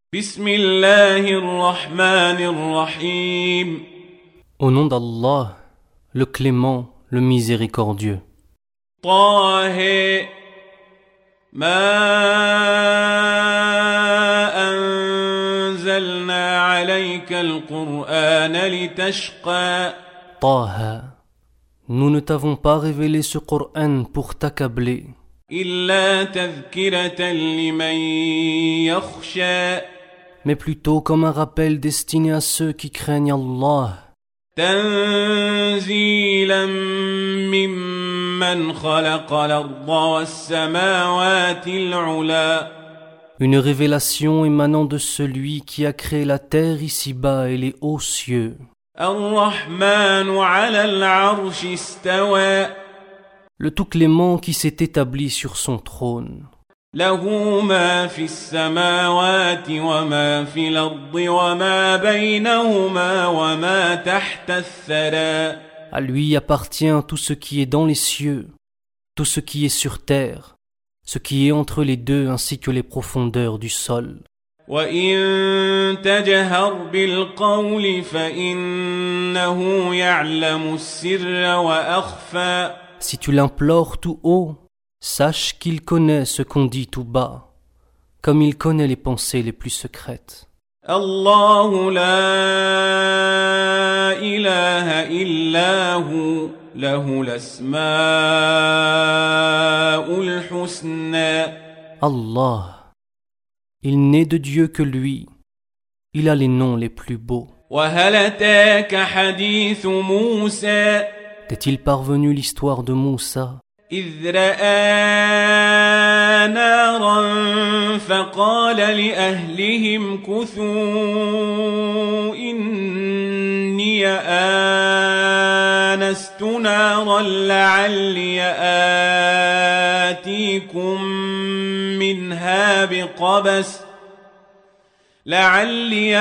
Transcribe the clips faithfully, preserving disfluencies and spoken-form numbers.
Bismillahirrahmanirrahim. Au nom d'Allah, le clément, le miséricordieux. طه ما أنزلنا عليك القرآن لتشقى Taha, nous ne t'avons pas révélé ce Coran pour t'accabler, إلا تذكرة لمن يخشى mais plutôt comme un rappel destiné à ceux qui craignent Allah, تنزيلا ممن خلق الأرض والسماوات العلى une révélation émanant de celui qui a créé la terre ici-bas et les hauts cieux. الرحمن على العرش استوى Le tout clément qui s'est établi sur son trône. له ما في السماوات وما في الأرض وما بينهما وما تحت الثرى À lui appartient tout ce qui est dans les cieux, tout ce qui est sur terre, ce qui est entre les deux ainsi que les profondeurs du sol. وإن تجهر بالقول فإنه يعلم السر وأخفى Si tu l'implores tout haut, sache qu'il connaît ce qu'on dit tout bas, comme il connaît les pensées les plus secrètes. الله لا إله إلا هو له الأسماء الحسنى Allah, il n'est de Dieu que lui, il a les noms les plus beaux. وهل أتاك حديث موسى T'est-il parvenu l'histoire de Moussa, إذ رأى نارا فقال لأهلهم كثوا إني آنست نارا لعلي آتيكم منها بقبس لعلي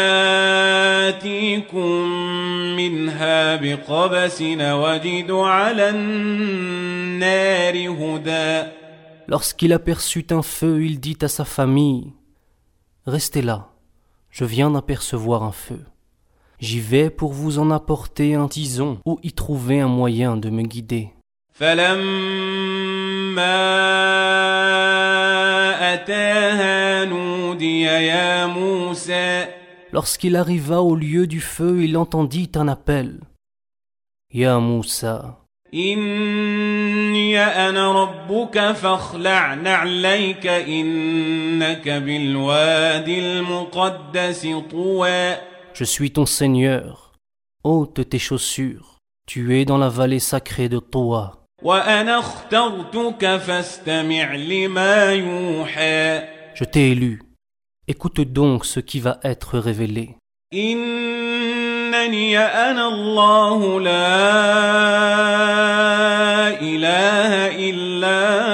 آتيكم منها بقبس وجد على النار هدى Lorsqu'il aperçut un feu, il dit à sa famille, « Restez là, je viens d'apercevoir un feu. J'y vais pour vous en apporter un tison ou y trouver un moyen de me guider. » فلما أتاها نودي يا موسى Lorsqu'il arriva au lieu du feu, il entendit un appel. « Ya Moussa, إني أنا ربك فاخلع نعليك إنك بالوادي المقدس طوى je suis ton Seigneur. Ôte tes chaussures, tu es dans la vallée sacrée de Toa. وأنا اخترتك فاستمع لما يوحى Je t'ai élu. Écoute donc ce qui va être révélé. إنني أنا الله لا إله إلا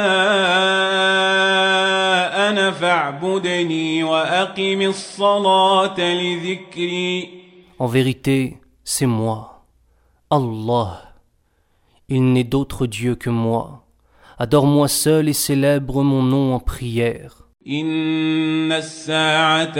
أنا فاعبدني وأقم الصلاة لذكري En vérité, c'est moi, Allah. Il n'est d'autre Dieu que moi. Adore-moi seul et célèbre mon nom en prière. إن الساعة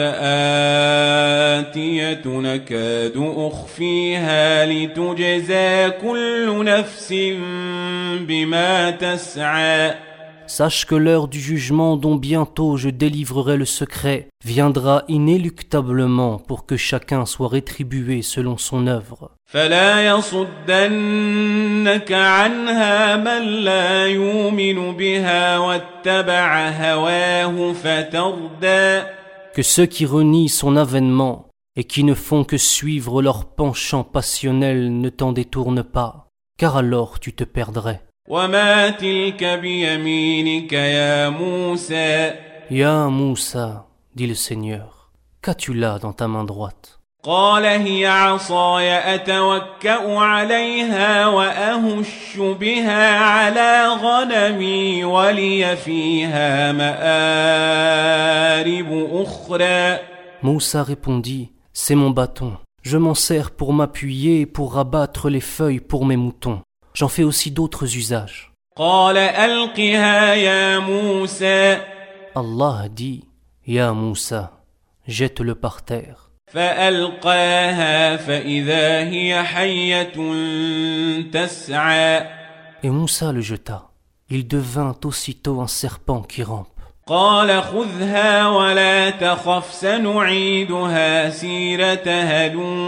آتية نكاد أخفيها لتجزى كل نفس بما تسعى Sache que l'heure du jugement dont bientôt je délivrerai le secret viendra inéluctablement pour que chacun soit rétribué selon son œuvre. فلا يصدنك عنها من لا يؤمن بها واتبع هواه فتردى Que ceux qui renient son avènement et qui ne font que suivre leur penchant passionnel ne t'en détournent pas, car alors tu te perdrais. وما تلك بيمينك يا موسى Ya Moussa, dit le Seigneur, qu'as-tu là dans ta main droite? قال هي عصاي أتوكأ عليها وأهش بها على غنمي ولي فيها مآرب أخرى Moussa répondit, c'est mon bâton. Je m'en sers pour m'appuyer et pour rabattre les feuilles pour mes moutons. J'en fais aussi d'autres usages. قال ألقها يا موسى Allah dit, Ya Moussa, jette-le par terre. فألقاها فإذا هي حية تسعى Et Moussa le jeta. Il devint aussitôt un serpent qui rampe. قال خذها ولا تخف سنعيدها سيرتها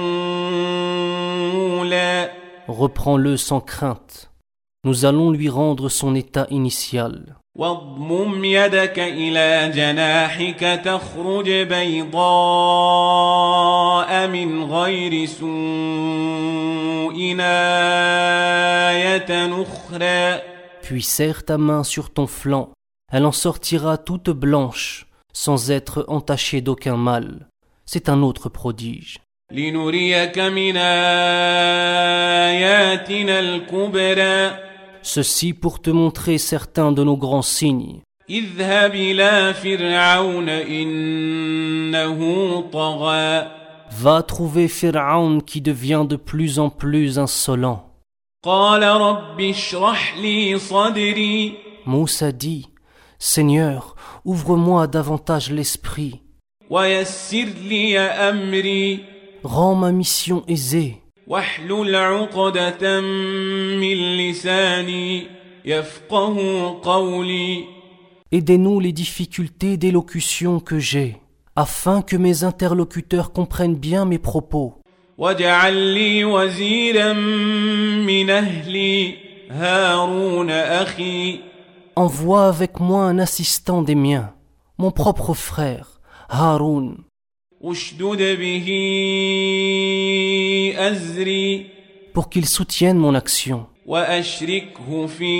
الأولى Reprends-le sans crainte. Nous allons lui rendre son état initial. واضمم يدك إلى جناحك تخرج بيضاء من غير سوء آية أخرى Puis serre ta main sur ton flanc. Elle en sortira toute blanche, sans être entachée d'aucun mal. C'est un autre prodige. لنريك من آياتنا الكبرى Ceci pour te montrer certains de nos grands signes. اذهب إلى فرعون إنه طغى Va trouver Pharaon qui devient de plus en plus insolent. قال رب اشرح لي صدري Moussa dit, Seigneur, ouvre-moi davantage l'esprit. ويسر لي أمري Rends ma mission aisée. واحلل عقدة من لساني يفقه قولي Aidez-nous les difficultés d'élocution que j'ai, afin que mes interlocuteurs comprennent bien mes propos. واجعل لي وزيرا من أهلي هارون أخي Envoie avec moi un assistant des miens, mon propre frère, Haroun, اشدد به أزري pour qu'il soutienne mon action وأشركه في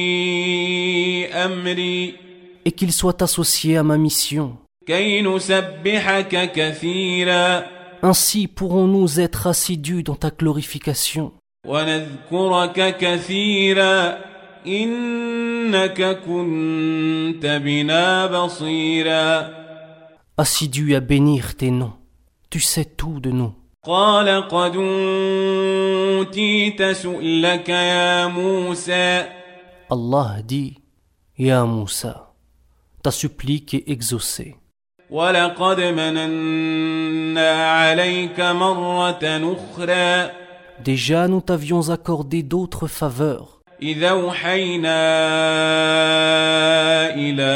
أمري et qu'il soit associé à ma mission. كي نسبحك كثيرا Ainsi pourrons-nous être assidus dans ta glorification ونذكرك كثيرا إنك كنت بنا بصيرا assidus à bénir tes noms. Tu sais tout de nous. قال قد أوتيت سؤلك يا موسى Allah dit, Ya Moussa, ta supplique est exaucée. ولقد مننا عليك مرة أخرى Déjà nous t'avions accordé d'autres faveurs. إذا أوحينا إلى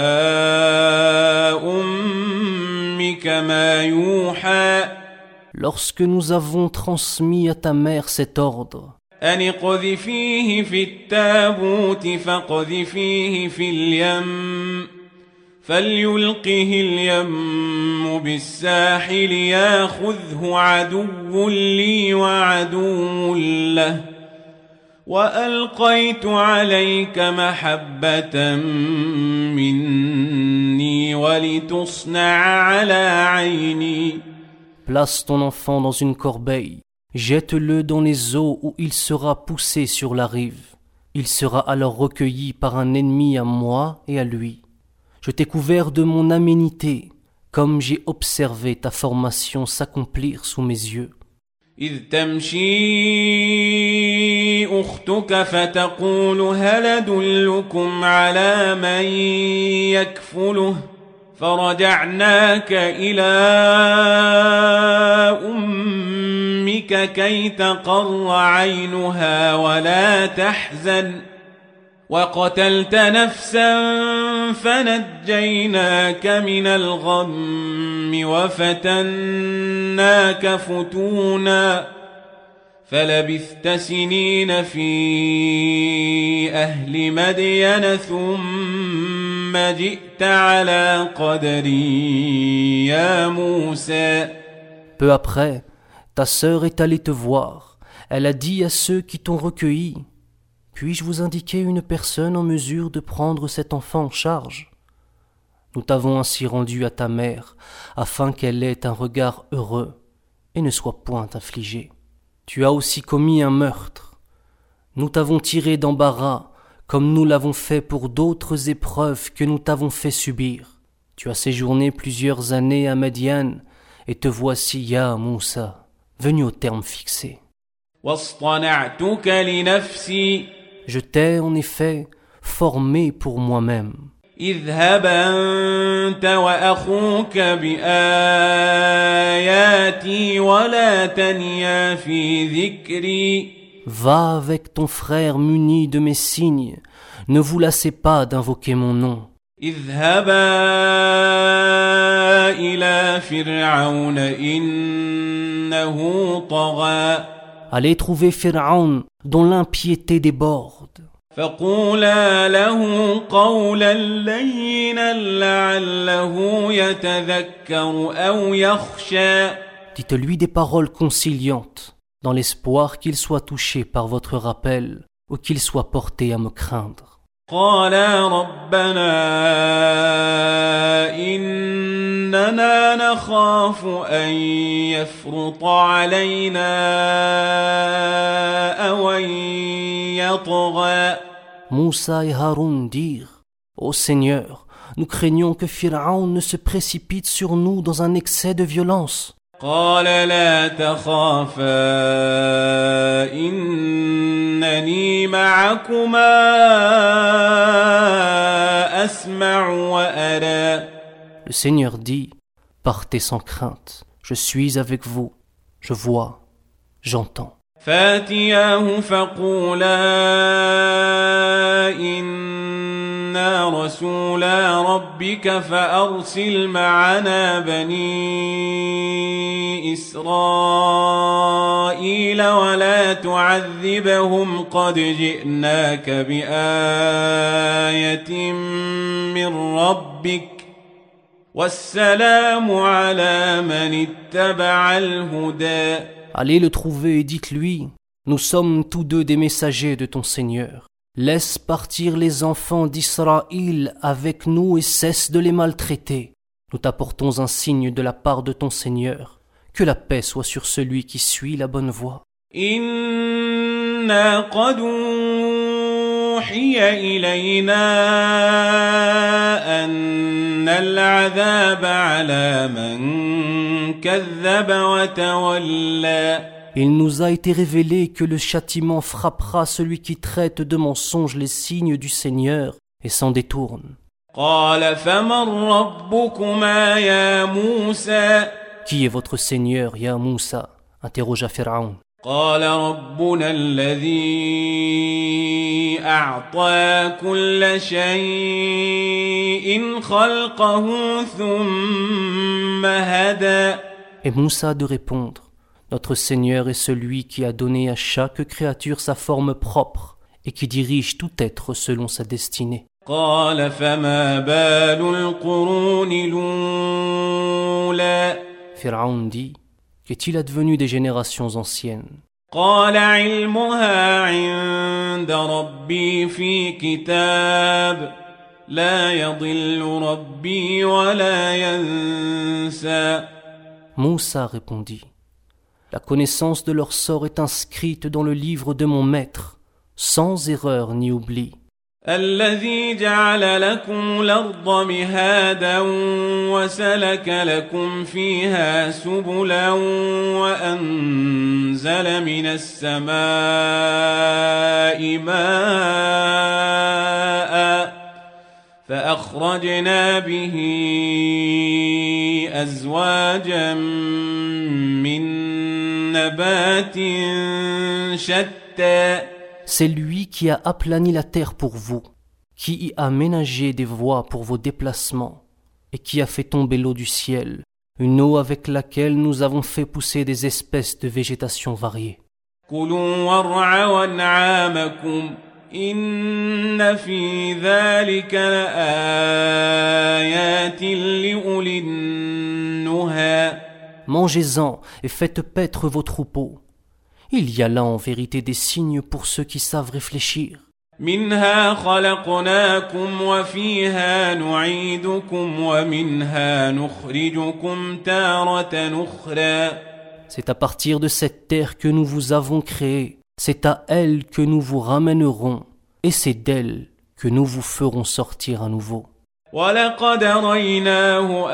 أمك ما يوحى Lorsque nous avons transmis à ta mère cet ordre, أن اقذفيه في التابوت فاقذفيه في اليم فليلقه اليم بالساحل ياخذه عدو لي وعدو له وألقيت عليك محبة مني ولتصنع على عيني place ton enfant dans une corbeille, jette-le dans les eaux où il sera poussé sur la rive. Il sera alors recueilli par un ennemi à moi et à lui. Je t'ai couvert de mon aménité, comme j'ai observé ta formation s'accomplir sous mes yeux. إذ تمشي أختك فتقول هل أدلكم على من يكفله فرجعناك إلى أمك كي تقر عينها ولا تحزن وقتلت نفسا فنجيناك من الغم وفتناك فتونا فلبثت سنين في أهل مدين ثم جئت على قدري يا موسى. Peu après, ta sœur est allée te voir. Elle a dit à ceux qui t'ont recueilli, puis-je vous indiquer une personne en mesure de prendre cet enfant en charge? Nous t'avons ainsi rendu à ta mère, afin qu'elle ait un regard heureux et ne soit point affligée. Tu as aussi commis un meurtre. Nous t'avons tiré d'embarras, comme nous l'avons fait pour d'autres épreuves que nous t'avons fait subir. Tu as séjourné plusieurs années à Madian, et te voici, Ya Moussa, venu au terme fixé. واصطنعتك لنفسي Je t'ai en effet formé pour moi-même. اذهب أنت وأخوك بآياتي ولا تنيا في ذكري. Va avec ton frère muni de mes signes, ne vous lassez pas d'invoquer mon nom. اذهبا إلى فرعون إنه طغى. Allez trouver Pharaon, dont l'impiété déborde. فقولا له قولا لينا لعله يتذكر أو يخشى. Dites-lui des paroles conciliantes, dans l'espoir qu'il soit touché par votre rappel ou qu'il soit porté à me craindre. قالا ربنا إننا نخاف أن يفرط علينا أو أن يطغى. Moussa et Haroun dirent, Ô Seigneur, nous craignons que Pharaon ne se précipite sur nous dans un excès de violence. قال لا تخافا إنني معكما أسمع وأرى. Le Seigneur dit, partez sans crainte, je suis avec vous, je vois, j'entends. فاتياه فقولا إنا رسولا ربك فأرسل معنا بني إسرائيل ولا تعذبهم قد جئناك بآية من ربك والسلام على من اتبع الهدى. Allez le trouver et dites-lui, nous sommes tous deux des messagers de ton Seigneur. Laisse partir les enfants d'Israël avec nous et cesse de les maltraiter. Nous t'apportons un signe de la part de ton Seigneur. Que la paix soit sur celui qui suit la bonne voie. Inna qad uhiya ilayna anna al-'adhaba 'ala man kazzaba wa tawalla. Il nous a été révélé que le châtiment frappera celui qui traite de mensonges les signes du Seigneur et s'en détourne. قال فمن ربكما يا موسى. Qui est votre Seigneur, Ya Moussa? Interrogea Pharaon. قال ربنا الذي أعطى كل شيء خلقه ثم هدى. Et Moussa de répondre, notre Seigneur est celui qui a donné à chaque créature sa forme propre et qui dirige tout être selon sa destinée. قال فما بال القرون الأولى. Pharaon dit, qu'est-il advenu des générations anciennes? قال علمها عند ربي في كتاب لا يضل ربي ولا ينسى. Moussa répondit, la connaissance de leur sort est inscrite dans le livre de mon maître, sans erreur ni oubli. الذي جعل لكم الأرض مهادا وسلك لكم فيها سبلا وأنزل من السماء ماء فأخرجنا به أزواجا من نبات شتى. C'est lui qui a aplani la terre pour vous, qui y a ménagé des voies pour vos déplacements, et qui a fait tomber l'eau du ciel, une eau avec laquelle nous avons fait pousser des espèces de végétation variées. كلوا وارعوا أنعامكم إن في ذلك لآيات لأولي النهى. Mangez-en et faites paître vos troupeaux. Il y a là en vérité des signes pour ceux qui savent réfléchir. منها خلقناكم وفيها نعيدكم ومنها نخرجكم تارة أخرى. C'est à partir de cette terre que nous vous avons créé. C'est à elle que nous vous ramènerons. Et c'est d'elle que nous vous ferons sortir à nouveau. وَلَقَدْ أَرَيْنَاهُ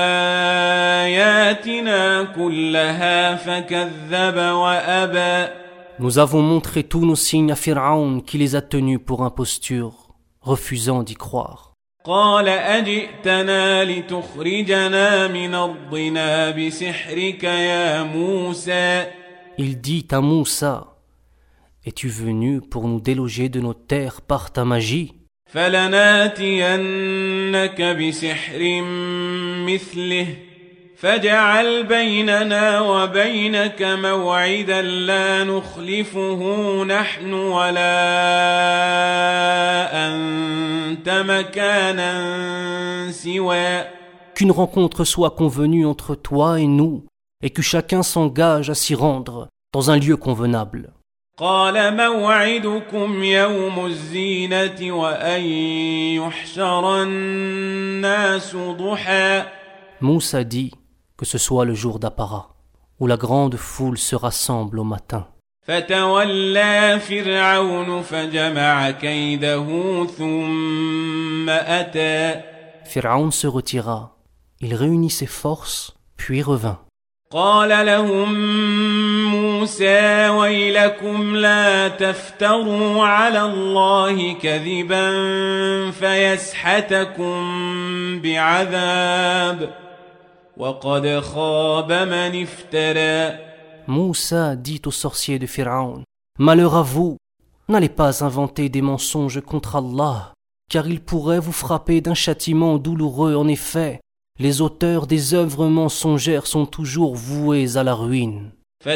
آيَاتِنَا كُلَّهَا فَكَذَّبَ وَأَبَى. Nous avons montré tous nos signes à Pharaon qui les a tenus pour imposture, refusant d'y croire. قال أجئتنا لتخرجنا من أرضنا بسحرك يا موسى. Il dit à Moussa, es-tu venu pour nous déloger de nos terres par ta magie? فلناتينك بسحر مثله فاجعل بيننا وبينك موعدا لا نخلفه نحن ولا أنت مكانا سوى. Qu'une rencontre soit convenue entre toi et nous, et que chacun s'engage à s'y rendre dans un lieu convenable. قال موعدكم يوم الزينة وأن يحشر الناس ضحى. Moussa dit que ce soit le jour d'Apparat, où la grande foule se rassemble au matin. فتولى فرعون فجمع كيده ثم أتى. Pharaon se retira, il réunit ses forces, puis revint. قال لهم موسى ويلكم لا تفتروا على الله كذبا فيسحتكم بعذاب وقد خاب من افترى. Moussa dit aux sorciers de Pharaon, malheur à vous, n'allez pas inventer des mensonges contre Allah, car il pourrait vous frapper d'un châtiment douloureux. En effet, les auteurs des œuvres mensongères sont toujours voués à la ruine.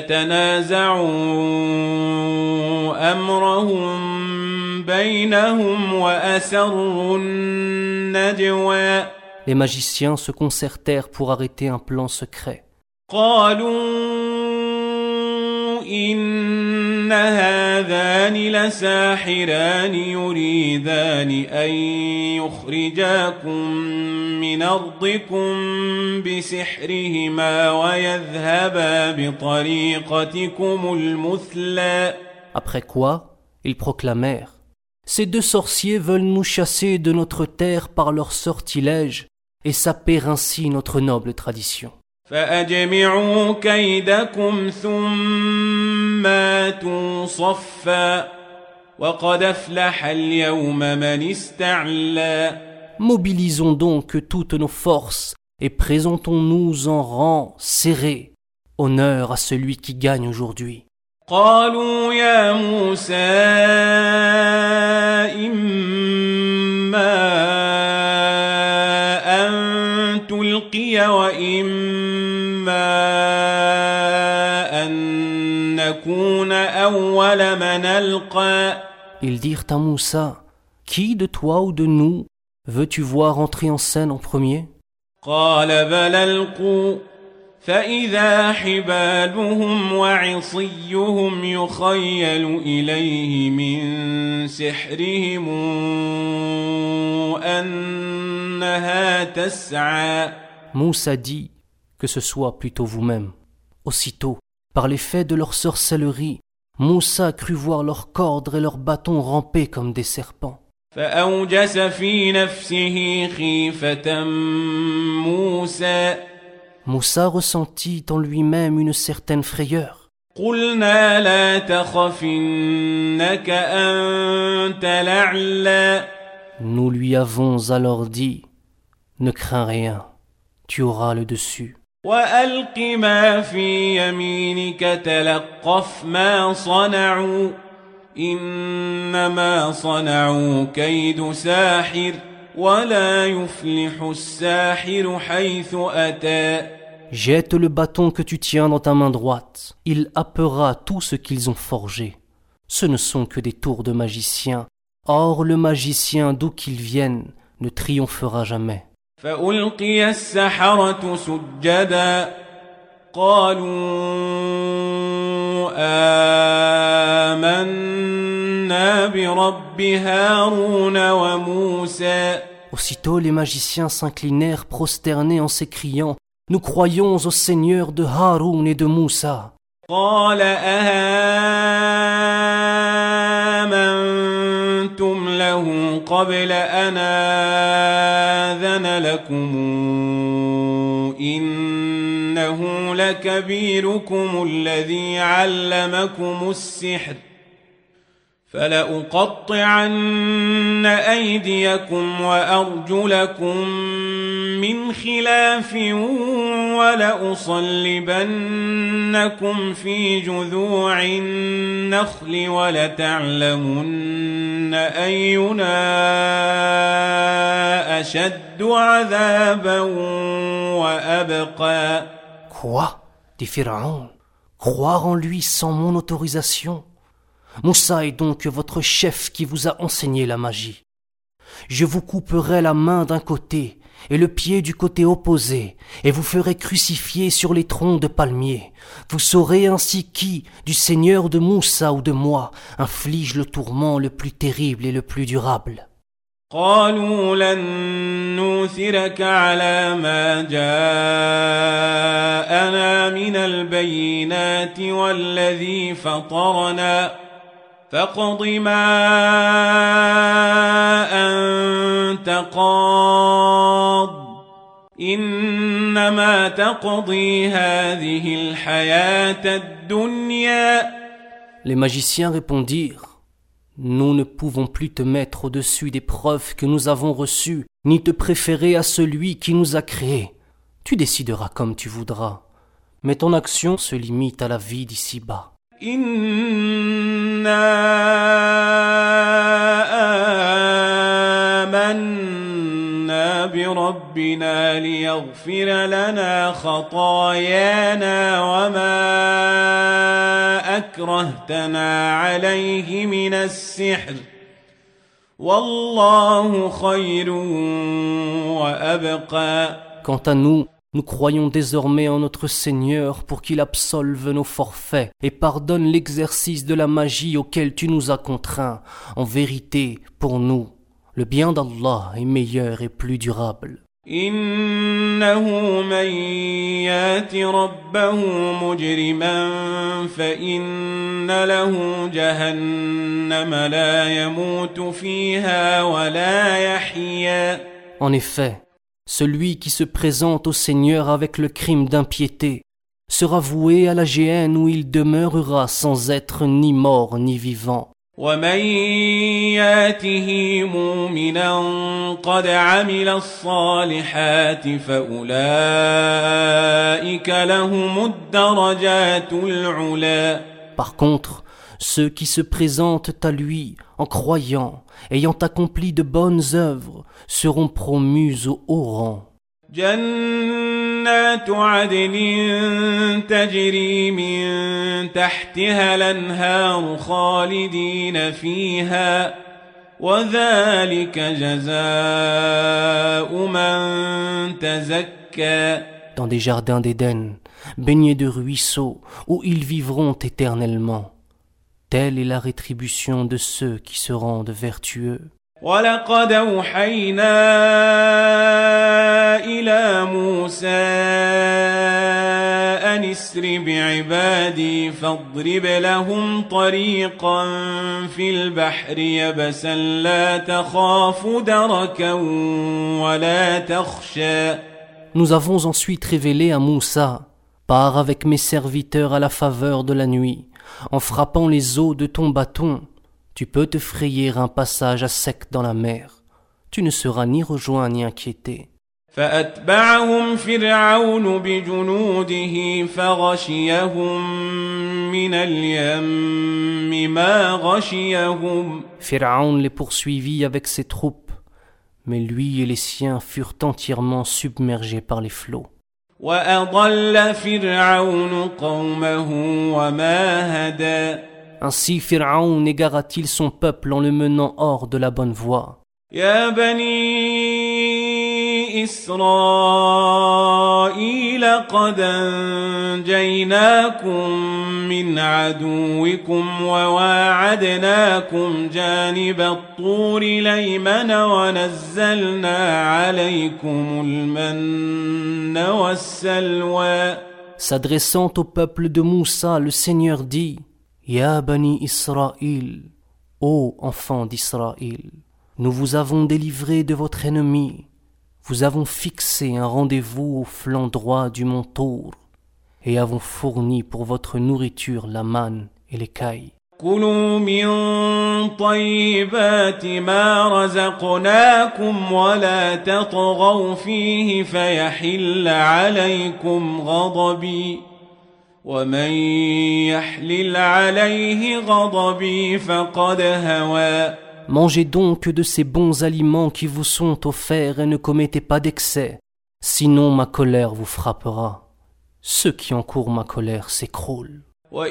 فتنازعوا أمرهم بينهم وأسروا النجوى. Les magiciens se concertèrent pour arrêter un plan secret. قالوا إن هذان لساحران يريدان أن يخرجاكم من أرضكم بسحرهما ويذهبا بطريقتكم المثلى. Après quoi, ils proclamèrent, ces deux sorciers veulent nous chasser de notre terre par leur sortilège et saper ainsi notre noble tradition. فأجمعوا كيدكم ثم آتوا صفا وقد أفلح اليوم من استعلى. Mobilisons donc toutes nos forces et présentons-nous en rang serré. Honneur à celui qui gagne aujourd'hui. قالوا يا موسى إما أن تلقي وإما أن نكون أول من ألقى. Ils dirent à Moussa, qui de toi ou de nous veux-tu voir entrer en scène en premier? قال بل ألقوا فإذا حبالهم وعصيهم يخيل إليه من سحرهم أنها تسعى. Moussa dit que ce soit plutôt vous-même. Aussitôt, par l'effet de leur sorcellerie, Moussa crut voir leurs cordes et leurs bâtons ramper comme des serpents. فأوجس في نفسه خيفة موسى. Moussa ressentit en lui-même une certaine frayeur. قلنا لا تخف إنك أنت الأعلى. Nous lui avons alors dit, ne crains rien, tu auras le dessus. وألق ما في يمينك تلقف ما صنعوا إنما صنعوا كيد ساحر ولا يفلح الساحر حيث أتى. Jette le bâton que tu tiens dans ta main droite. Il happera tout ce qu'ils ont forgé. Ce ne sont que des tours de magiciens. Or le magicien d'où qu'il vienne ne triomphera jamais. فألقي السحرة سجدا قالوا آمنا برب هارون وموسى. Aussitôt les magiciens s'inclinèrent prosternés en s'écriant, nous croyons au Seigneur de Haroun et de Moussa. قال أهامنتم له قبل أن آذن لكم إنه لكبيركم الذي علمكم السحر فلأقطعن أيديكم وأرجلكم من خلاف ولأصلبنكم في جذوع النخل ولتعلمن أينا أشد عذابا وأبقى. Quoi? Dit Pharaon. Croire en lui sans mon autorisation? Moussa est donc votre chef qui vous a enseigné la magie. Je vous couperai la main d'un côté et le pied du côté opposé, et vous ferez crucifier sur les troncs de palmiers. Vous saurez ainsi qui, du Seigneur de Moussa ou de moi, inflige le tourment le plus terrible et le plus durable. قالوا لن نوثرك على ما جاءنا من البينات والذي فطرنا فاقض ما أنت قاض إنما تقضي هذه الحياة الدنيا. Les magiciens répondirent: Nous ne pouvons plus te mettre au-dessus des preuves que nous avons reçues, ni te préférer à celui qui nous a créés. Tu décideras comme tu voudras, mais ton action se limite à la vie d'ici-bas. إنا آمنا بربنا ليغفر لنا خطايانا وما أكرهتنا عليه من السحر والله خير وأبقى. Quant à nous, nous croyons désormais en notre Seigneur pour qu'il absolve nos forfaits et pardonne l'exercice de la magie auquel tu nous as contraints. En vérité, pour nous, le bien d'Allah est meilleur et plus durable. إنه من يات ربه مجرما فإن له جهنم لا يموت فيها ولا يحيا. En effet, celui qui se présente au Seigneur avec le crime d'impiété sera voué à la géhenne où il demeurera sans être ni mort ni vivant. ومن ياته مؤمنا قد عمل الصالحات فأولئك لهم الدرجات العلا. Par contre, ceux qui se présentent à lui en croyant, ayant accompli de bonnes œuvres, seront promus au haut rang. جنات عدن تجري من تحتها الأنهار خالدين فيها وذلك جزاء من تزكى. Dans des jardins d'Éden, baignés de ruisseaux, où ils vivront éternellement. Telle est la rétribution de ceux qui se rendent vertueux. ولقد أوحينا إلى موسى أن اسر بعبادي فاضرب لهم طريقا في البحر يبسا لا تخاف دركا ولا تخشى. Nous avons ensuite révélé à Moussa: Pars avec mes serviteurs à la faveur de la nuit, en frappant les eaux de ton bâton. Tu peux te frayer un passage à sec dans la mer. Tu ne seras ni rejoint ni inquiété. فأتبعهم فرعون بجنوده فغشيهم من اليم ما غشيهم. Pharaon les poursuivit avec ses troupes, mais lui et les siens furent entièrement submergés par les flots. وأضل فرعون قومه وما هدى. Ainsi Pharaon égara-t-il son peuple en le menant hors de la bonne voie. يا بني إسرائيل قد أنجيناكم من عدوكم وواعدناكم جانب الطور الأيمن ونزلنا عليكم المن والسلوى. S'adressant au peuple de Moussa, le Seigneur dit: Ya Bani Israël, ô enfants d'Israël, nous vous avons délivré de votre ennemi, vous avons fixé un rendez-vous au flanc droit du mont Tour, et avons fourni pour votre nourriture la manne et l'écaille. كلوا من طيبات ما رزقناكم ولا تطغوا فيه فيحل عليكم غضبي ومن يحلل عليه غضبي فقد هوى. Mangez donc de ces bons aliments qui vous sont offerts et ne commettez pas d'excès, sinon ma colère vous frappera. Ceux qui encourent ma colère s'écroulent.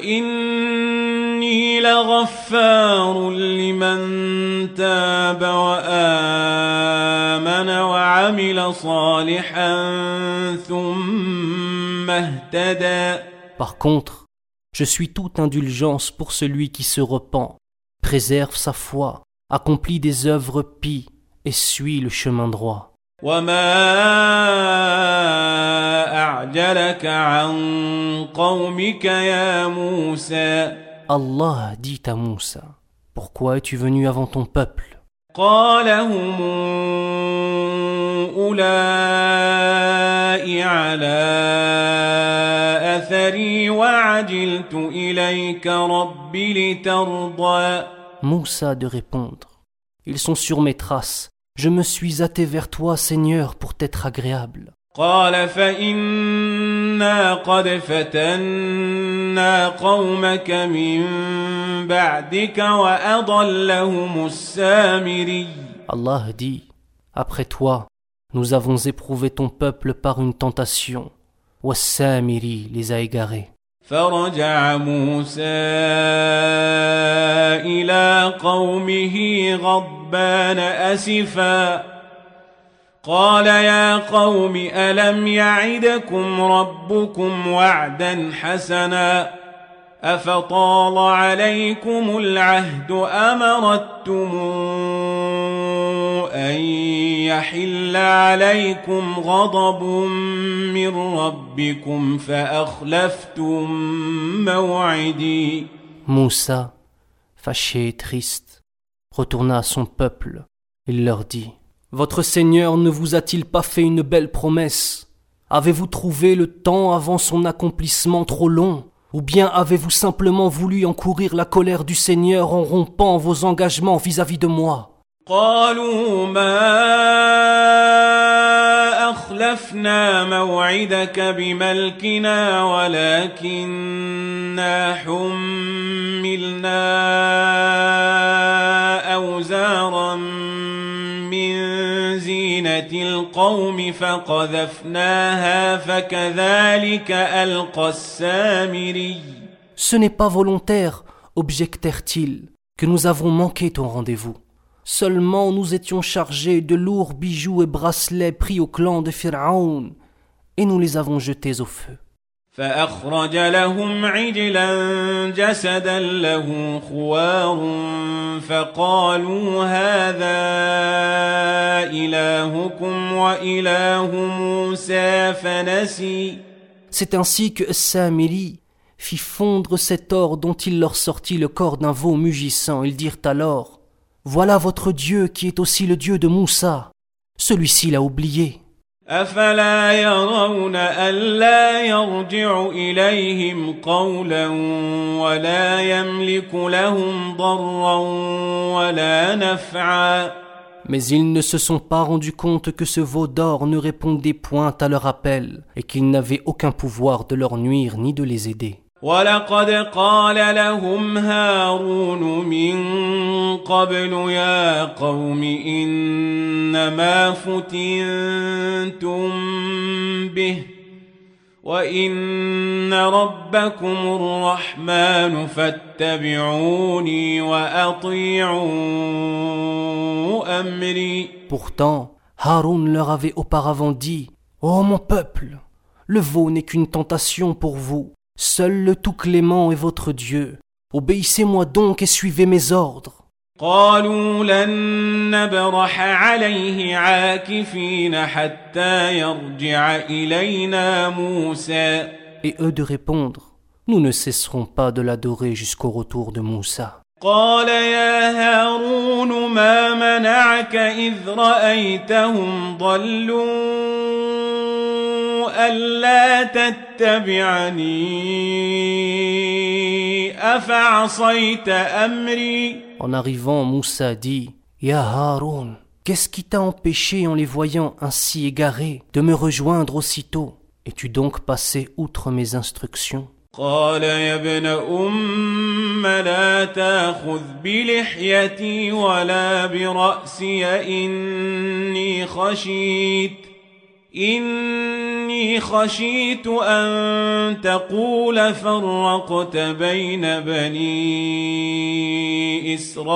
وإني لغفار لمن تاب وآمن وعمل صالحا ثم اهتدى. Par contre, je suis toute indulgence pour celui qui se repent, préserve sa foi, accomplit des œuvres pies et suit le chemin droit. وما أعجلك عن قومك يا موسى. Allah dit à Moussa, pourquoi es-tu venu avant ton peuple? قال هم أولئك على أثري وعجلت إليك رب لترضى. Moussa de répondre, ils sont sur mes traces. Je me suis hâté vers toi, Seigneur, pour t'être agréable. قال فإنا قد فتنا قومك من بعدك وأضلهم السامري. Allah dit, après toi, nous avons éprouvé ton peuple par une tentation. Wassamiri les a égarés. فرجع موسى إلى قومه غضبان أسفا قال يا قوم ألم يعدكم ربكم وعدا حسنا أفطال عليكم العهد أم أردتم أن يحل عليكم غضب من ربكم فأخلفتم موعدي. Moussa, fâché et triste, retourna à son peuple. Il leur dit, votre Seigneur ne vous a-t-il pas fait une belle promesse? Avez-vous trouvé le temps avant son accomplissement trop long? Ou bien avez-vous simplement voulu encourir la colère du Seigneur en rompant vos engagements vis-à-vis de moi? قالوا ما أخلفنا موعدك بملكنا ولكننا حملنا أوزارا من زينة القوم فقذفناها فكذلك ألقى السامري. Ce n'est pas volontaire, objectèrent-ils, que nous avons manqué ton rendez-vous. Seulement nous étions chargés de lourds bijoux et bracelets pris au clan de Pharaon, et nous les avons jetés au feu. فأخرج لهم عجلا جسدا له خوار فقالوا هذا إلهكم وإله موسى فنسي. C'est ainsi que Samiri fit fondre cet or dont il leur sortit le corps d'un veau mugissant. Ils dirent alors, voilà votre Dieu qui est aussi le Dieu de Moussa. Celui-ci l'a oublié. أفلا يرون ألا يرجع إليهم قولا ولا يملك لهم ضرا ولا نفعا. Mais ils ne se sont pas rendus compte que ce veau d'or ne répondait point à leur appel et qu'il n'avait aucun pouvoir de leur nuire ni de les aider. ولقد قال لهم هارون من قبل يا قوم إنما فتنتم به وإن ربكم الرحمن فاتبعوني وأطيعوا أمري. Pourtant, Haroun leur avait auparavant dit, ô mon peuple, le veau n'est qu'une tentation pour vous. Seul le tout clément est votre Dieu. Obéissez-moi donc et suivez mes ordres. قالوا لن نبرح عليه عاكفين حتى يرجع إلينا موسى. Et eux de répondre, nous ne cesserons pas de l'adorer jusqu'au retour de Moussa. قال يا هارون ما منعك إذ رأيتهم ضلوا ألا تتبعني أفعصيت أمري. En arrivant, Moussa dit « Ya Haroun, qu'est-ce qui t'a empêché en les voyant ainsi égarés de me rejoindre aussitôt? Es-tu donc passé outre mes instructions ?» قال يا ابن أم لا تأخذ بلحيتي ولا برأسي إني خشيت إني خشيت أن تقول فرقت بين بني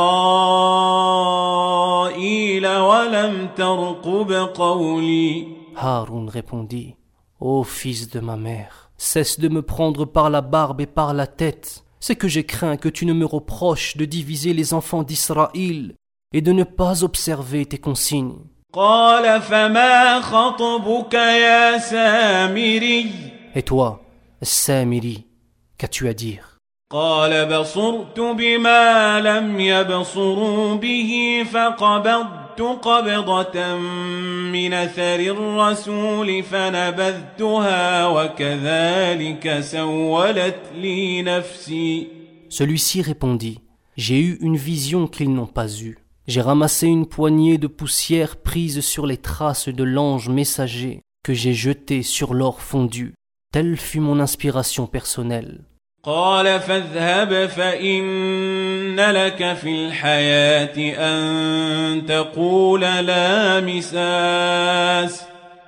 إسرائيل ولم ترقب قولي. Haroun répondit « Ô fils de ma mère, cesse de me prendre par la barbe et par la tête. C'est que j'ai craint que tu ne me reproches de diviser les enfants d'Israël et de ne pas observer tes consignes. » قال فما خطبك يا سامري. Et toi, Samiri, qu'as-tu à dire? قال بصرت بما لم يبصروا به فقبضت قبضة من أثر الرسول فنبذتها وكذلك سولت لي نفسي. Celui-ci répondit, j'ai eu une vision qu'ils n'ont pas eue. J'ai ramassé une poignée de poussière prise sur les traces de l'ange messager que j'ai jeté sur l'or fondu. Telle fut mon inspiration personnelle. قال فاذهب فإن لك في الحياة أن تقول لا مساس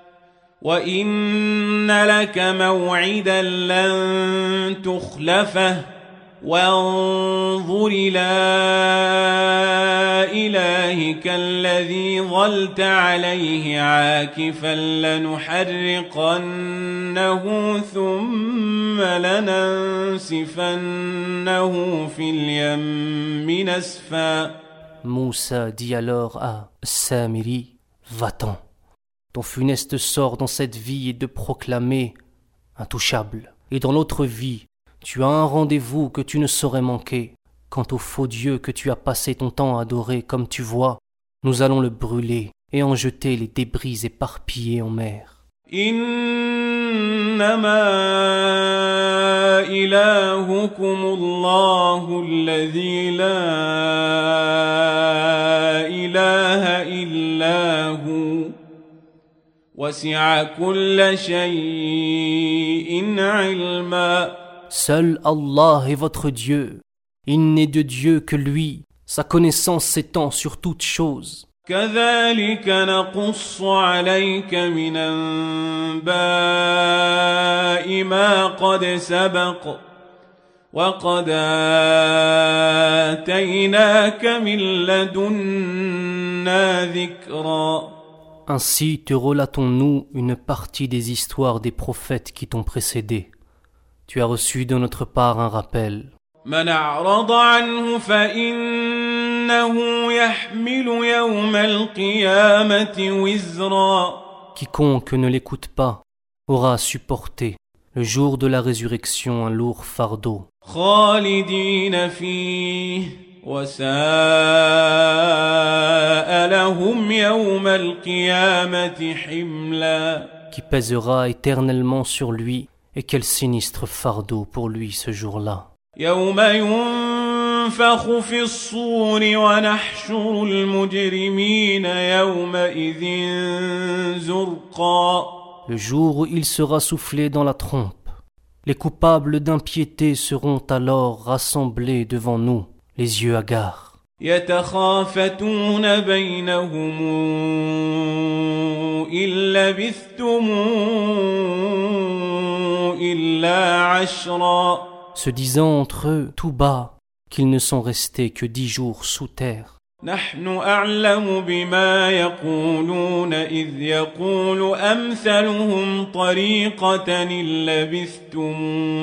وإن لك موعدا لن تخلفه وانظر إلى إلهك الذي ظلت عليه عاكفا لنحرقنه ثم لننسفنه في اليم نسفا. Moussa dit alors à Samiri, va-t'en. Ton funeste sort dans cette vie est de proclamer intouchable. Et dans l'autre vie, tu as un rendez-vous que tu ne saurais manquer. Quant au faux Dieu que tu as passé ton temps à adorer, comme tu vois, nous allons le brûler et en jeter les débris éparpillés en mer. إنما إلهكم الله الذي لا إله إلا هو وسع كل شيء علما. Seul Allah est votre Dieu. Il n'est de Dieu que lui. Sa connaissance s'étend sur toutes choses. كذلك نقص عليك من أنباء ما قد سبق وقد آتيناك من لدنا ذكرا. Ainsi te relatons-nous une partie des histoires des prophètes qui t'ont précédé. Tu as reçu de notre part un rappel. من أعرض عنه فإنه يحمل يوم القيامة وزرا. Quiconque ne l'écoute pas aura à supporter le jour de la résurrection un lourd fardeau. خالدين فيه وساء لهم يوم القيامة حملا. Qui pèsera éternellement sur lui, et quel sinistre fardeau pour lui ce jour-là. يوم ينفخ في الصور ونحشر المجرمين يومئذ زرقا. Le jour où il sera soufflé dans la trompe, les coupables d'impiété seront alors rassemblés devant nous, les yeux hagards. يتخافتون بينهم إن لبثتم إلا عشرا. Se disant entre eux tout bas qu'ils ne sont restés que dix jours sous terre. نحن أعلم بما يقولون إذ يقول أمثلهم طريقة إن لبثتم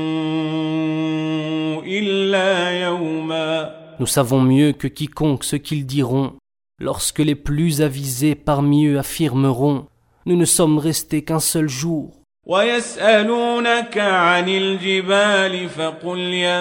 إلا يوما. Nous savons mieux que quiconque ce qu'ils diront, lorsque les plus avisés parmi eux affirmeront « Nous ne sommes restés qu'un seul jour ». ويسألونك عن الجبال فقل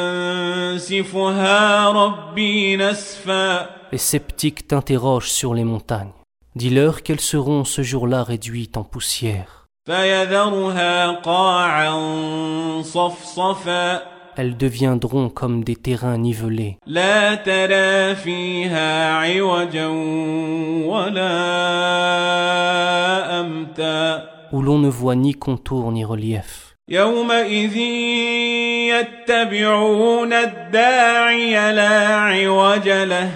ينسفها ربي نسفا. Les sceptiques t'interrogent sur les montagnes. Dis-leur qu'elles seront ce jour-là réduites en poussière. فيذرها قاعا صفصفا Elles deviendront comme des terrains nivelés. لا ترى فيها عوجا ولا أمتا Où l'on ne voit ni contour ni relief. يومئذ يتبعون الداعي لا عوج له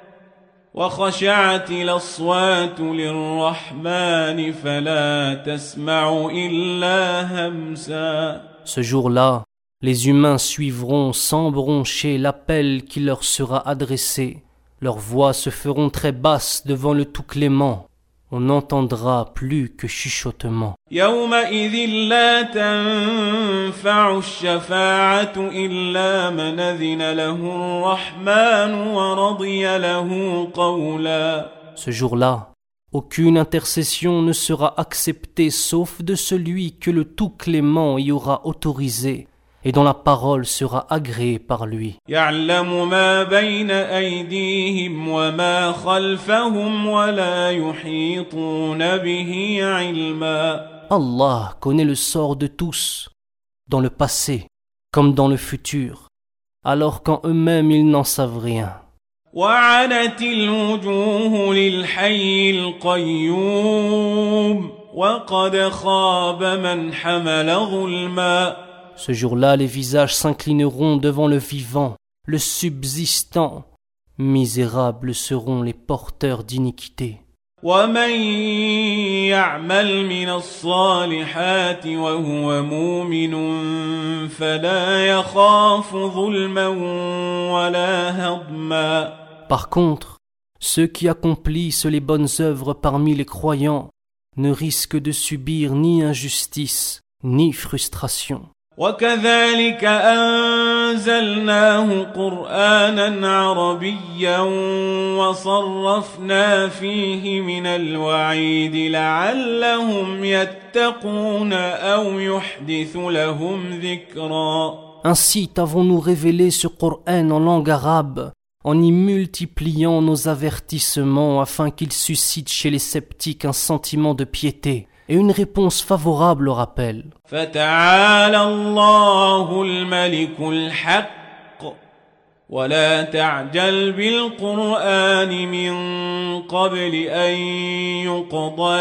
وخشعت الأصوات للرحمن فلا تسمع إلا همسا. Ce jour-là, les humains suivront sans broncher l'appel qui leur sera adressé. Leurs voix se feront très basses devant le Tout-Clément. On n'entendra plus que chuchotement. يومئذ لا تنفع الشفاعة إلا من أذن له الرحمن ورضي له قولا. Ce jour-là, aucune intercession ne sera acceptée sauf de celui que le Tout-Clément y aura autorisé et dont la parole sera agréée par lui. يعلم ما بين أيديهم وما خلفهم ولا يحيطون به علما. Allah connaît le sort de tous, dans le passé comme dans le futur, alors qu'en eux-mêmes ils n'en savent rien. وعنت الوجوه للحي القيوم وقد خاب من حمل ظلما. Ce jour-là, les visages s'inclineront devant le vivant, le subsistant. Misérables seront les porteurs d'iniquité. ومن يعمل من الصالحات وهو مؤمن فلا يخاف ظلما ولا هضما. Par contre, ceux qui accomplissent les bonnes œuvres parmi les croyants ne risquent de subir ni injustice, ni frustration. وكذلك أنزلناه قرآنا عربيا وصرفنا فيه من الوعيد لعلهم يتقون أو يحدث لهم ذكرا. Ainsi t'avons-nous révélé ce Coran en langue arabe, en y multipliant nos avertissements afin qu'il suscite chez les sceptiques un sentiment de piété et une réponse favorable au rappel. فتعالى الله الملك الحق ولا تعجل بالقرآن من قبل أن يقضى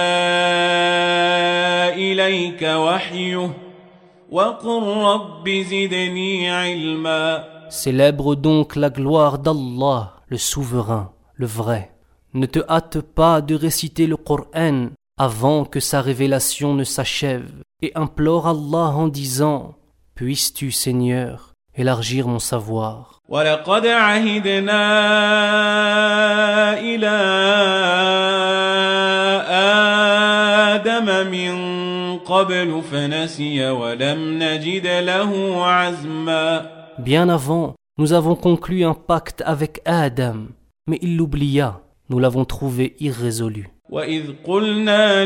إليك وحيه وقل رب زدني علما. Célèbre donc la gloire d'Allah, le souverain, le vrai. Ne te hâte pas de réciter le Coran avant que sa révélation ne s'achève, et implore Allah en disant « Puisses-tu, Seigneur, élargir mon savoir ?» وَلَقَدْ عَهِدْنَا إِلَىٰ آدَمَ مِن قَبْلُ فَنَسِيَ وَلَمْ نَجِدْ لَهُ عَزْمًا. Bien avant, nous avons conclu un pacte avec Adam, mais il l'oublia, nous l'avons trouvé irrésolu. وَإِذْ قُلْنَا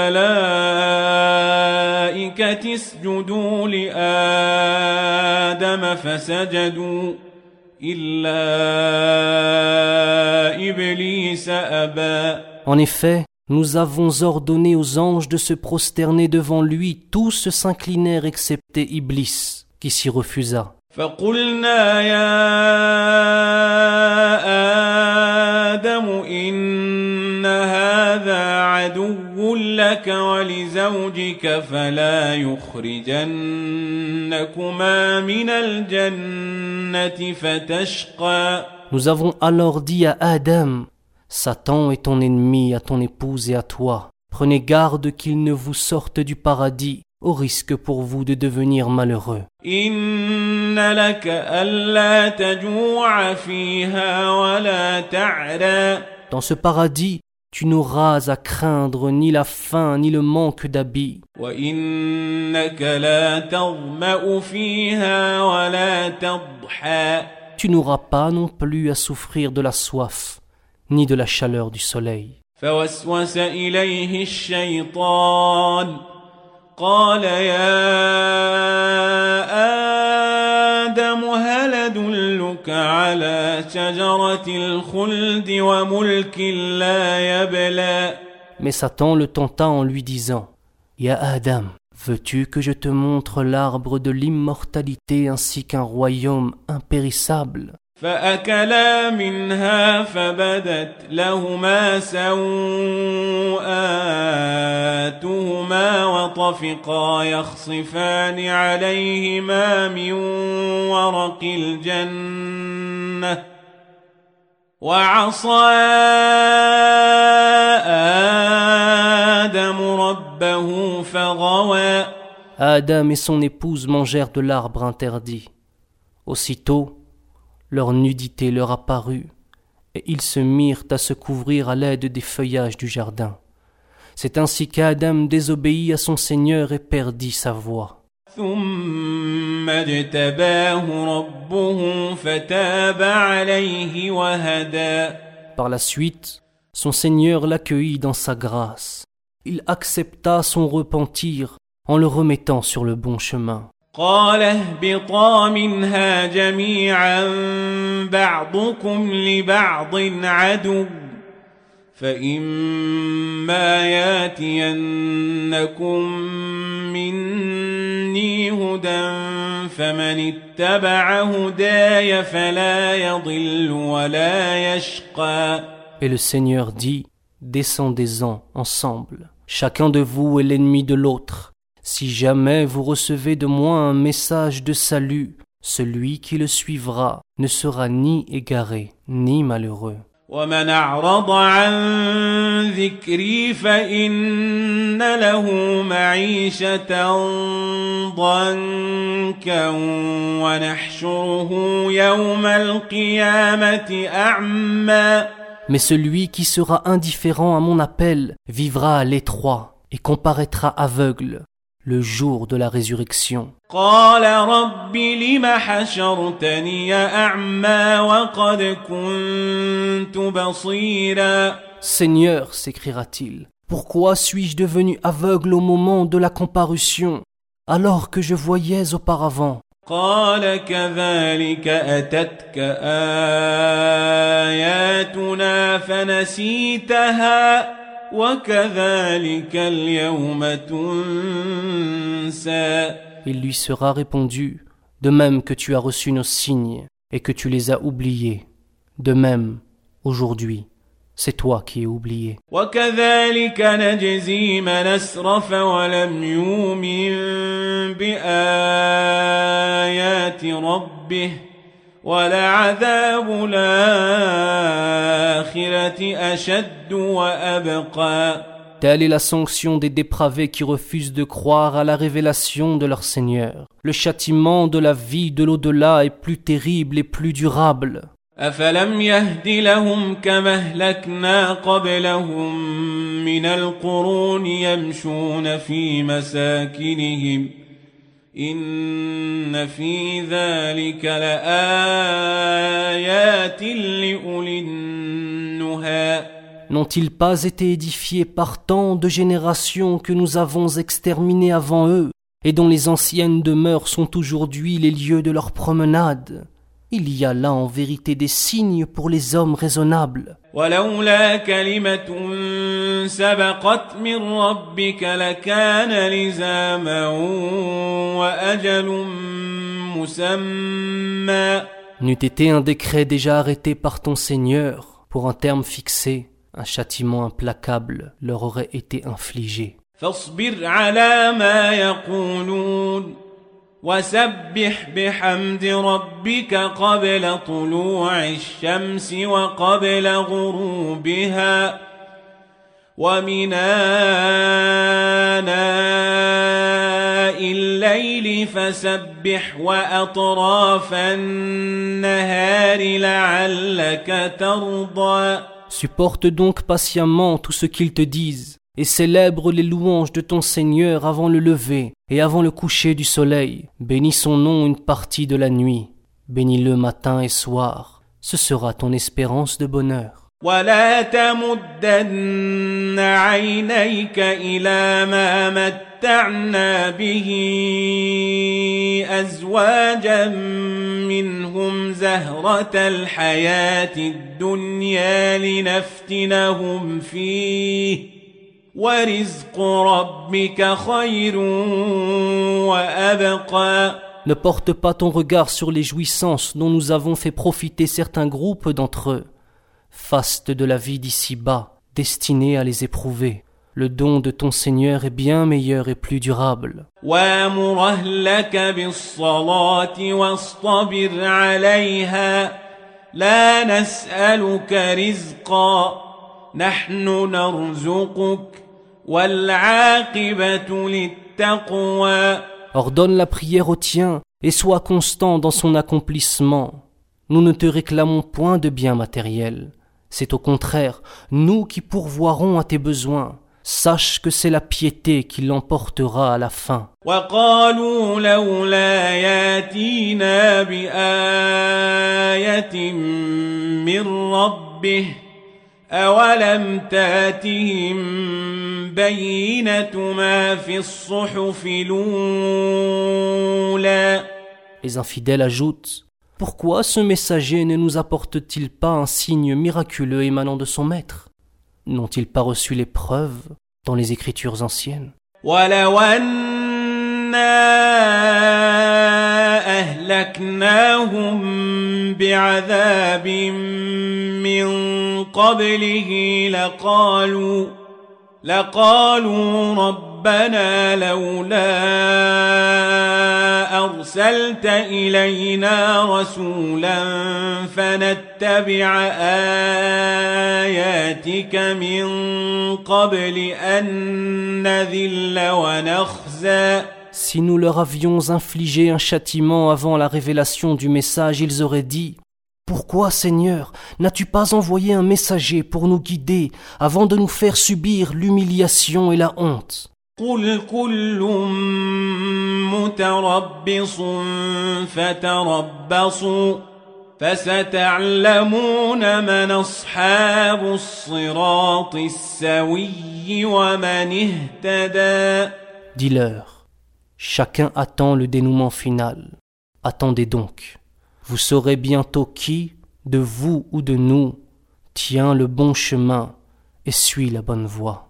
لِلْمَلَائِكَةِ اسْجُدُوا لِآدَمَ فَسَجَدُوا إِلَّا إِبْلِيسَ أَبَى. En effet, nous avons ordonné aux anges de se prosterner devant lui, tous se s'inclinèrent excepté Iblis, qui s'y refusa. فَقُلْنَا يَا آدَمُ إِنَّ هَذَا عَدُوٌّ لَكَ وَلِزَوْجِكَ فَلَا يُخْرِجَنَّكُمَا مِنَ الْجَنَّةِ فَتَشْقَى. Nous avons alors dit à Adam, Satan est ton ennemi à ton épouse et à toi. Prenez garde qu'il ne vous sorte du paradis, au risque pour vous de devenir malheureux. إِنَّ لَكَ أَلَّا تَجُوعَ فِيهَا وَلَا تَعْرَى. Dans ce paradis, tu n'auras à craindre ni la faim ni le manque d'habits. وَإِنَّكَ لَا تَظْمَأُ فِيهَا وَلَا تَضْحَى. Tu n'auras pas non plus à souffrir de la soif, ni de la chaleur du soleil. فوسوس إليه الشيطان قال يا آدم هل أدلك على شجرة الخلد وملك لا يبلى. Mais Satan le tenta en lui disant, Ya Adam, veux-tu que je te montre l'arbre de l'immortalité ainsi qu'un royaume impérissable? فأكلا منها فبدت لهما سوآتهما وطفقا يخصفان عليهما من ورق الجنة وعصى آدم ربه فغوى. Adam et son épouse mangèrent de l'arbre interdit. Aussitôt, leur nudité leur apparut, et ils se mirent à se couvrir à l'aide des feuillages du jardin. C'est ainsi qu'Adam désobéit à son Seigneur et perdit sa voix. ثم اجتباه ربه فتاب عليه وهدى. Par la suite, son Seigneur l'accueillit dans sa grâce. Il accepta son repentir en le remettant sur le bon chemin. قال اهبطا منها جميعا بعضكم لبعض عدو فإما ياتينكم مني هدى فمن اتبع هداي فلا يضل ولا يشقى. Et le Seigneur dit, descendez-en ensemble. Chacun de vous est l'ennemi de l'autre. Si jamais vous recevez de moi un message de salut, celui qui le suivra ne sera ni égaré, ni malheureux. ومن أعرض عن ذكري فإن له معيشة ضنكا ونحشره يوم القيامة أعمى. Mais celui qui sera indifférent à mon appel vivra à l'étroit et comparaîtra aveugle le jour de la résurrection. قال رب لم حشرتني أعمى وقد كنت بصيرا. Seigneur, s'écriera-t-il, pourquoi suis-je devenu aveugle au moment de la comparution, alors que je voyais auparavant? قال كذلك أتتك آياتنا فنسيتها وكذلك اليوم تنسى. Il lui sera répondu, de même que tu as reçu nos signes et que tu les as oubliés, de même, aujourd'hui, c'est toi qui es oublié. وكذلك نجزي من أسرف ولم يؤمن بآيات ربه ولعذاب الآخرة أشد وأبقى. Telle est la sanction des dépravés qui refusent de croire à la révélation de leur Seigneur. Le châtiment de la vie de l'au-delà est plus terrible et plus durable. أفلم يهد لهم كما أهلكنا قبلهم من القرون يمشون في مساكنهم إن في ذلك لآيات لأولي النهى. N'ont-ils pas été édifiés par tant de générations que nous avons exterminées avant eux, et dont les anciennes demeures sont aujourd'hui les lieux de leur promenade? Il y a là en vérité des signes pour les hommes raisonnables. ولولا كلمة سبقت من ربك لكان لزاما وأجل مسمى. N'eût été un décret déjà arrêté par ton Seigneur, pour un terme fixé, un châtiment implacable leur aurait été infligé. فاصبر على ما يقولون وسبح بحمد ربك قبل طلوع الشمس وقبل غروبها ومن آناء الليل فسبح وأطراف النهار لعلك ترضى. Supporte donc patiemment tout ce qu'ils te disent, et célèbre les louanges de ton Seigneur avant le lever et avant le coucher du soleil. Bénis son nom une partie de la nuit, bénis-le matin et soir, ce sera ton espérance de bonheur. ولا تمدن عينيك إلى ما متعنا به أزواجا منهم زهرة الحياة الدنيا لنفتنهم فيه ورزق ربك خير وأبقى. Ne porte pas ton regard sur les jouissances dont nous avons fait profiter certains groupes d'entre eux. Faste de la vie d'ici-bas, destinée à les éprouver. Le don de ton Seigneur est bien meilleur et plus durable. وَأْمُرْ أَهْلَكَ بِالصَّلَاةِ وَاصْطَبِرْ عَلَيْهَا لَا نَسْأَلُكَ رِزْقًا نَحْنُ نَرْزُقُكَ وَالْعَاقِبَةُ لِلتَّقْوَى. Ordonne la prière au tien et sois constant dans son accomplissement. Nous ne te réclamons point de biens matériels. C'est au contraire, nous qui pourvoirons à tes besoins. Sache que c'est la piété qui l'emportera à la fin. وَقَالُوا لَوْلَا يَأْتِينَا بِآيَةٍ مِّن رَّبِّهِ أَوَلَمْ تَأْتِهِم بَيِّنَةُ مَا فِي الصُّحُفِ الْأُولَى. Les infidèles ajoutent: pourquoi ce messager ne nous apporte-t-il pas un signe miraculeux émanant de son maître? N'ont-ils pas reçu les preuves dans les écritures anciennes? وَلَوْ أَنَّا أَهْلَكْنَاهُم بِعَذَابٍ مِّن قَبْلِهِ لَقَالُوا لَقَالُوا رَبَّنَا لَوْلَا أَرْسَلْتَ إِلَيْنَا رَسُولًا فَنَتَّبِعَ آيَاتِكَ مِن قَبْلِ أَن نَّذِلَّ وَنَخْزَىٰ. Si nous leur avions infligé un châtiment avant la révélation du message, ils auraient dit: pourquoi, Seigneur, n'as-tu pas envoyé un messager pour nous guider avant de nous faire subir l'humiliation et la honte? قُلْ كُلٌّ مُّتَرَبِّصٌ فَتَرَبَّصُوا فَسَتَعْلَمُونَ مَنْ أَصْحَابُ الصِّرَاطِ السَّوِيِّ وَمَنِ اهْتَدَىٰ. Dis-leur: chacun attend le dénouement final. Attendez donc. Vous saurez bientôt qui, de vous ou de nous, tient le bon chemin et suit la bonne voie.